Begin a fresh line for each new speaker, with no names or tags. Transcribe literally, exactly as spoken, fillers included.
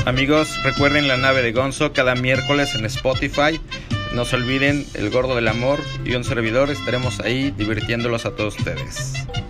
Amigos, recuerden La Nave de Gonzo cada miércoles en Spotify. No se olviden, El Gordo del Amor y un servidor estaremos ahí divirtiéndolos a todos ustedes.